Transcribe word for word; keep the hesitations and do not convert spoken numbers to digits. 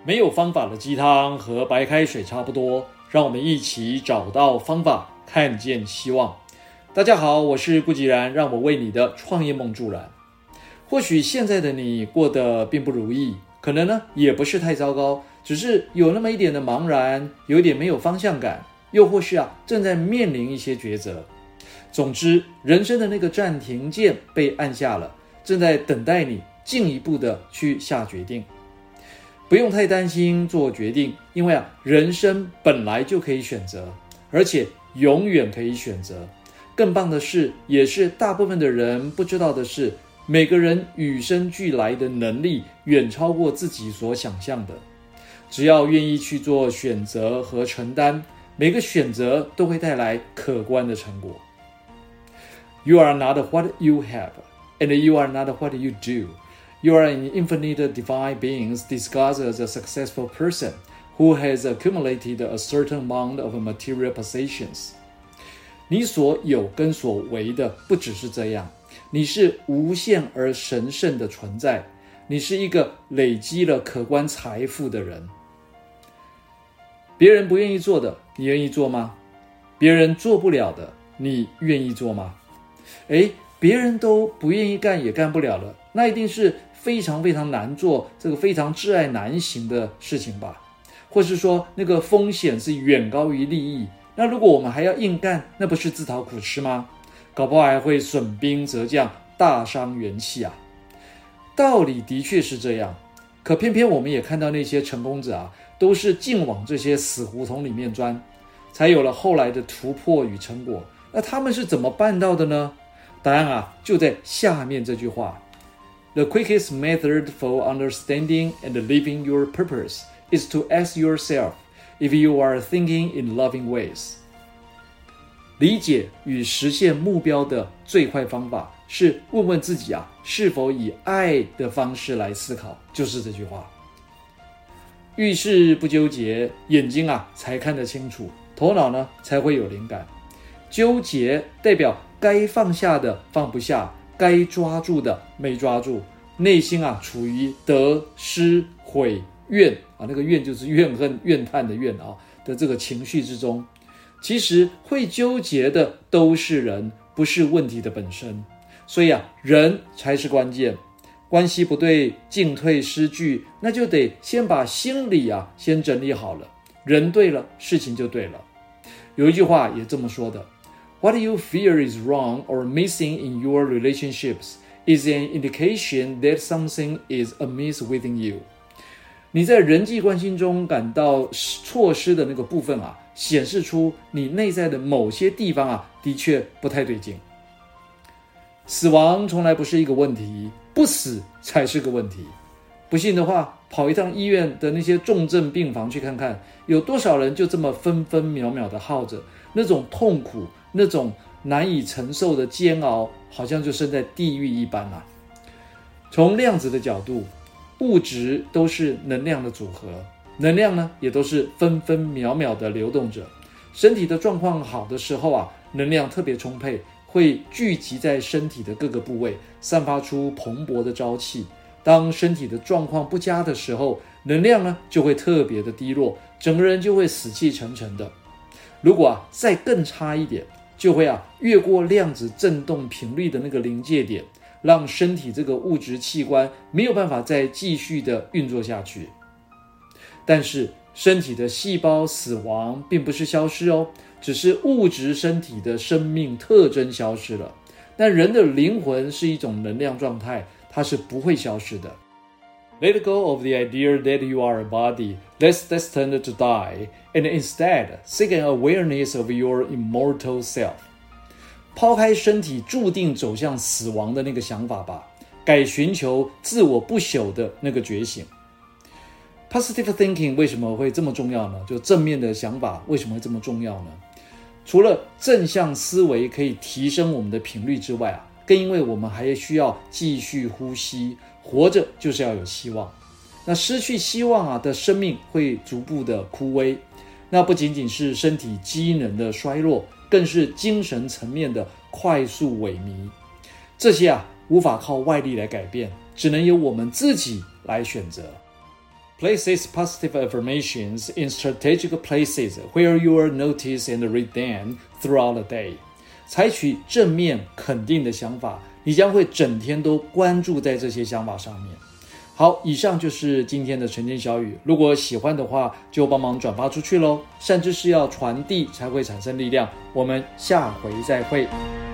沒有方法的雞湯和白開水差不多，讓我們一起找到方法，看見希望。大家好，我是顧吉然，讓我為你的創業夢助燃。或許現在的你過得並不如意，可能呢也不是太糟糕，只是有那麼一點的茫然，有一點沒有方向感，又或是啊正在面臨一些抉擇。總之，人生的那個暫停鍵被按下了，正在等待你進一步的去下決定。不用太擔心做決定，因為啊，人生本來就可以選擇，而且永遠可以選擇。更棒的是，也是大部分的人不知道的是，每個人與生俱來的能力遠超過自己所想象的。只要願意去做選擇和承擔，每個選擇都會帶來可觀的成果。You are not what you have, and you are not what you do.You are an infinite divine being disguised as a successful person who has accumulated a certain amount of material possessions. 你所有跟所為的不只是這樣，你是無限而神聖的存在，你是一個累積了可觀財富的人。別人不願意做的，你願意做嗎？別人做不了的，你願意做嗎？誒，別人都不願意幹也幹不了了，那一定是非常非常難做，這個非常至愛難行的事情吧，或是說那個風險是遠高於利益，那如果我們還要硬幹，那不是自討苦吃嗎？搞不好還會損兵折將，大傷元氣啊。道理的確是這樣，可偏偏我們也看到那些成功者啊，都是盡往這些死胡同裡面鑽，才有了後來的突破與成果。那他們是怎麼辦到的呢？答案啊，就在下面這句話。The quickest method for understanding and living your purpose is to ask yourself if you are thinking in loving ways. 理解與實現目標的最快方法是問問自己啊，是否以愛的方式來思考，就是這句話。遇事不糾結，眼睛啊才看得清楚，頭腦呢才會有靈感。糾結代表該放下的放不下，該抓住的沒抓住，內心啊處於得失悔怨啊，那個怨就是怨恨怨嘆的怨啊的這個情緒之中。其實會糾結的都是人，不是問題的本身。所以啊，人才是關鍵。關係不對，進退失據，那就得先把心理啊先整理好了。人對了，事情就對了。有一句話也這麼說的。What you fear is wrong or missing in your relationships is an indication that something is amiss within you. 你在人際關係中感到錯失的那個部分啊，顯示出你內在的某些地方啊，的確不太對勁。死亡從來不是一個問題，不死才是個問題。不信的話，跑一趟醫院的那些重症病房去看看，有多少人就這麼分分秒秒的耗着，那種痛苦，那種難以承受的煎熬，好像就身在地獄一般啊。從量子的角度，物質都是能量的組合，能量呢也都是分分秒秒的流動着。身體的狀況好的時候啊，能量特別充沛，會聚集在身體的各個部位，散發出蓬勃的朝氣。當身體的狀況不佳的時候，能量呢就會特別的低落，整個人就會死氣沉沉的。如果啊再更差一點，就會啊越過量子振動頻率的那個臨界點，讓身體這個物質器官沒有辦法再繼續的運作下去。但是身體的細胞死亡並不是消失哦，只是物質身體的生命特徵消失了。但人的靈魂是一種能量狀態，它是不會消失的。Let go of the idea that you are a body that's destined to die, and instead seek an awareness of your immortal self. 拋開身體注定走向死亡的那個想法吧，改尋求自我不朽的那個覺醒。Positive thinking 為什麼會這麼重要呢？就正面的想法為什麼會這麼重要呢？除了正向思維可以提升我們的頻率之外啊，更因為我們還需要繼續呼吸，活着就是要有希望。那失去希望啊的生命會逐步的枯萎，那不僅僅是身體機能的衰弱，更是精神層面的快速萎靡。這些啊无法靠外力來改變，只能由我們自己來選擇。 Places positive affirmations in strategic places where you will notice and read them throughout the day. 採取正面肯定的想法，你将會整天都關注在這些想法上面。好，以上就是今天的晨間小語。如果喜歡的話，就幫忙轉發出去咯。善知識要傳遞才會產生力量。我們下回再會。